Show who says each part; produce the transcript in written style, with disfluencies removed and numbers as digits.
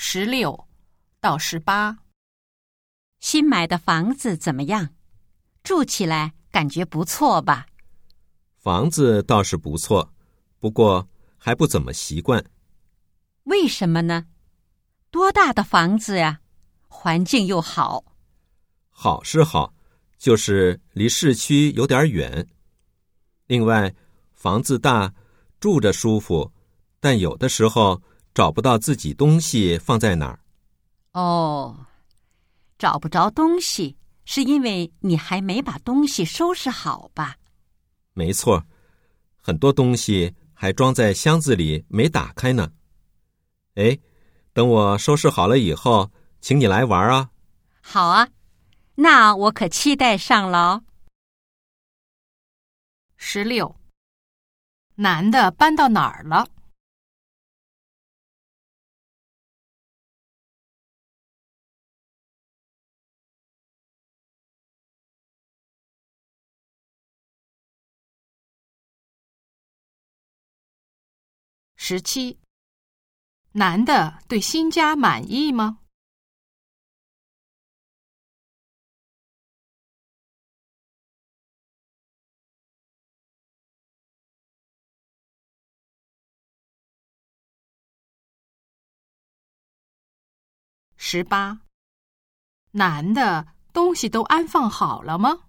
Speaker 1: 16到18。
Speaker 2: 新买的房子怎么样？住起来感觉不错吧？
Speaker 3: 房子倒是不错，不过还不怎么习惯。
Speaker 2: 为什么呢？多大的房子呀？环境又好。
Speaker 3: 好是好，就是离市区有点远。另外，房子大，住着舒服，但有的时候找不到自己东西放在哪儿。
Speaker 2: 哦，找不着东西，是因为你还没把东西收拾好吧？
Speaker 3: 没错，很多东西还装在箱子里没打开呢。哎，等我收拾好了以后，请你来玩啊。
Speaker 2: 好啊，那我可期待上了哦。
Speaker 1: 16，男的搬到哪儿了？17，男的对新家满意吗？18，男的东西都安放好了吗？